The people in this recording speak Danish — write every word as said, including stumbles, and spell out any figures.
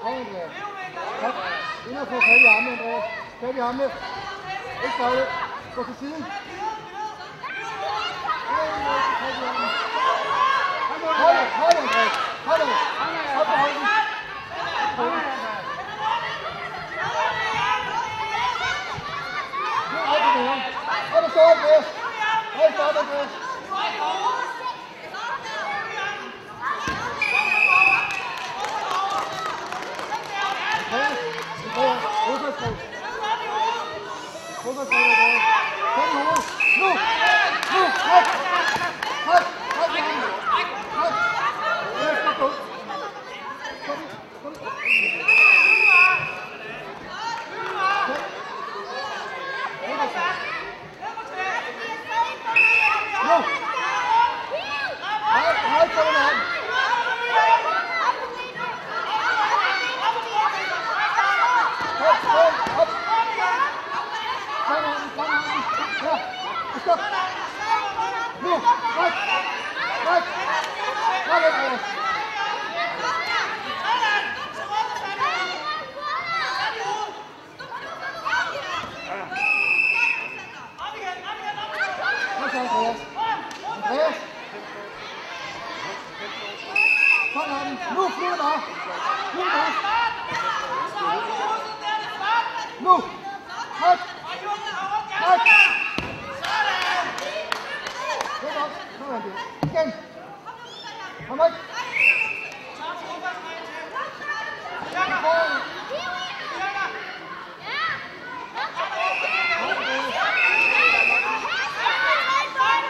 Kom, Andreas. Kom. Ind og få fat i armene, Andreas. Fat i armene. Ikke fejle. Gå til siden. Hold det, hold det, Andreas. Hold det. Hold på holden. Nu er det her. Hold det, stå, Andreas. Hold det, stop, Andreas. Fodboldspil. Fodboldspil, Andreas. Kom i hovedet. Nu! Nu! Hop! Hop!